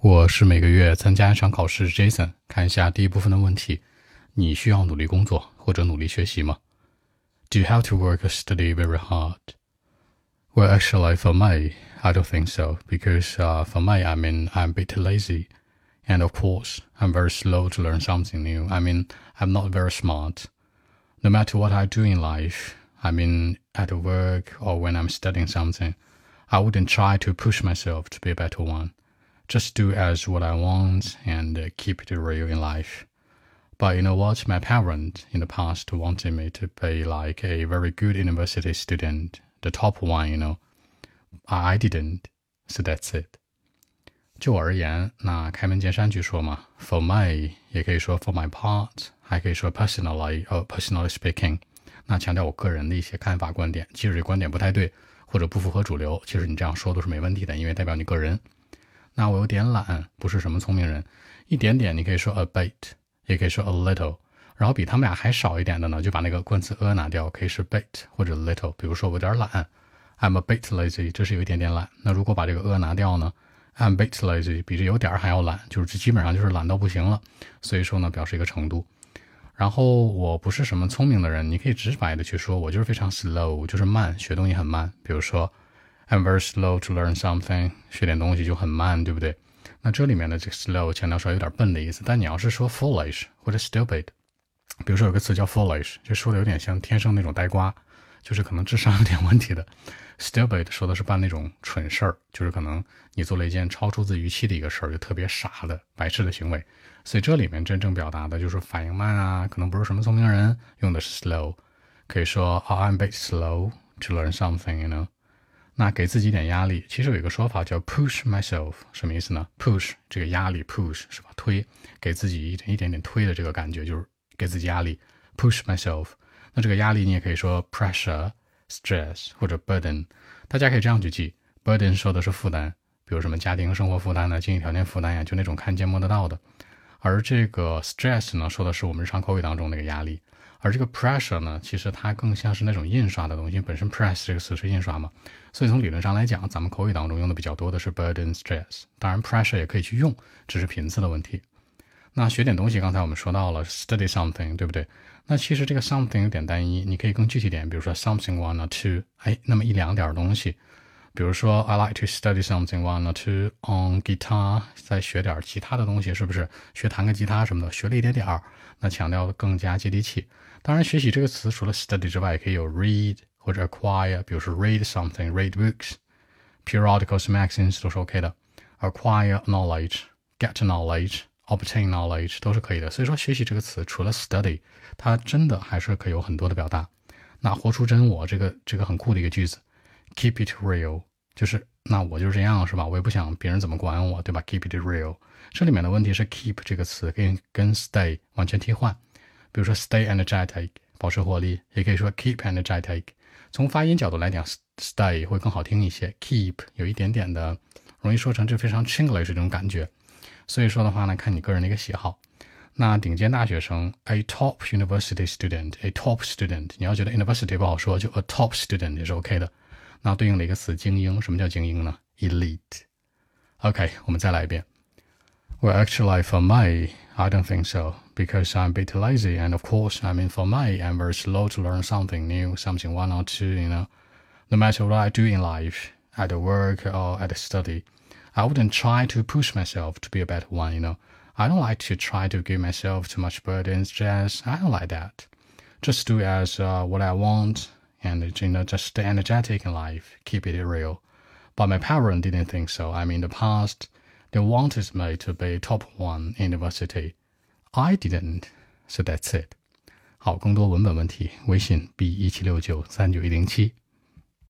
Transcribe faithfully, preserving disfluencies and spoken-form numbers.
我是每个月参加一场考试 Jason， 看一下第一部分的问题，你需要努力工作或者努力学习吗？ Do you have to work or study very hard? Well, actually, for me, I don't think so, because uh, for me, I mean, I'm a bit lazy. And of course, I'm very slow to learn something new. I mean, I'm not very smart. No matter what I do in life, I mean, at work or when I'm studying something, I wouldn't try to push myself to be a better one.Just do as what I want and uh, keep it real in life. But you know what? My parents in the past wanted me to be like a very good university student, the top one, you know. I didn't, so that's it. 就我而言，那开门见山句说嘛 ，for me 也可以说 for my part， 还可以说 personally or personally speaking。那强调我个人的一些看法观点，即使这观点不太对或者不符合主流，其实你这样说都是没问题的，因为代表你个人。那我有点懒，不是什么聪明人，一点点你可以说 a bit， 也可以说 a little， 然后比他们俩还少一点的呢，就把那个冠词 a 拿掉，可以是 bit 或者 little。比如说我有点懒 I'm a bit lazy， 这是有一点点懒。那如果把这个 a 拿掉呢， I'm a bit lazy 比这有点还要懒，就是基本上就是懒到不行了。所以说呢，表示一个程度。然后我不是什么聪明的人，你可以直白的去说我就是非常 slow， 就是慢，学东西很慢。比如说I'm very slow to learn something， 学点东西就很慢，对不对？那这里面的这个 slow 强调说有点笨的意思，但你要是说 foolish 或者 stupid， 比如说有个词叫 foolish， 就说的有点像天生那种呆瓜，就是可能智商有点问题的。stupid 说的是办那种蠢事儿，就是可能你做了一件超出自预期的一个事儿，就特别傻的白痴的行为。所以这里面真正表达的就是反应慢啊，可能不是什么聪明人，用的是 slow， 可以说 oh, I'm a bit slow to learn something, you know。那给自己一点压力，其实有一个说法叫 push myself， 什么意思呢？ push 这个压力 push 是吧？推，给自己一点一点点推的这个感觉，就是给自己压力 push myself。那这个压力你也可以说 pressure stress 或者 burden， 大家可以这样去记， burden 说的是负担，比如什么家庭生活负担呢，经济条件负担呀，就那种看见摸得到的。而这个 stress 呢，说的是我们日常口语当中那个压力。而这个 pressure 呢，其实它更像是那种印刷的东西，本身 press 这个词是印刷嘛，所以从理论上来讲，咱们口语当中用的比较多的是 burden stress， 当然 pressure 也可以去用，只是频次的问题。那学点东西，刚才我们说到了 study something， 对不对？那其实这个 something 有点单一，你可以更具体点，比如说 something one or two， 哎，那么一两点东西。比如说 I like to study something one or two on guitar， 再学点其他的东西，是不是学弹个吉他什么的，学了一点点儿，那强调的更加接地气。当然学习这个词除了 study 之外，也可以有 read 或者 acquire， 比如说 read something read books periodicals magazines 都是 OK 的。 acquire knowledge get knowledge obtain knowledge 都是可以的。所以说学习这个词除了 study， 它真的还是可以有很多的表达。那活出真我，这个这个很酷的一个句子， keep it real， 就是那我就是这样是吧，我也不想别人怎么管我，对吧？ keep it real， 这里面的问题是 keep 这个词跟跟 stay 完全替换。比如说 stay energetic 保持活力，也可以说 keep energetic。 从发音角度来讲 stay 会更好听一些， keep 有一点点的容易说成这非常 Chinglish 这种感觉。所以说的话呢，看你个人的一个喜好。那顶尖大学生 a top university student a top student， 你要觉得 university 不好说，就 a top student 也是 OK 的。那对应的一个词精英，什么叫精英呢？ elite。 OK， 我们再来一遍。 Well, actually for me, I don't think so, because I'm a bit lazy, and of course, I mean for me, I'm very slow to learn something new, something one or two, you know. No matter what I do in life, at work or at study, I wouldn't try to push myself to be a better one, you know. I don't like to try to give myself too much burden, stress. I don't like that. Just do as uh, what I want, and you know, just stay energetic in life, keep it real. But my parents didn't think so. I mean, in the past, they wanted me to be top one in university. I didn't, so that's it. 好，更多文本问题，微信 b 一七六九三九一零七。